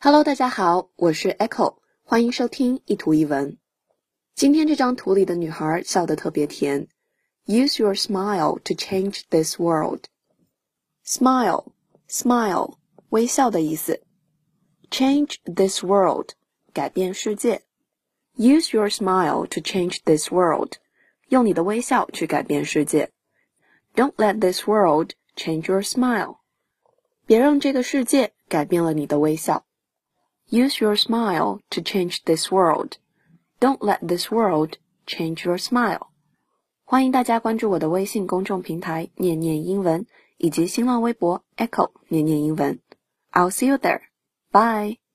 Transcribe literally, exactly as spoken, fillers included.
Hello， 大家好，我是 Echo， 欢迎收听一图一文。今天这张图里的女孩笑得特别甜。Use your smile to change this world. Smile, smile, 微笑的意思。Change this world, 改变世界。Use your smile to change this world. 用你的微笑去改变世界。Don't let this world change your smile. 别让这个世界改变了你的微笑。Use your smile to change this world. Don't let this world change your smile. 欢迎大家关注我的微信公众平台念念英文以及新浪微博 Echo 念念英文。I'll see you there. Bye.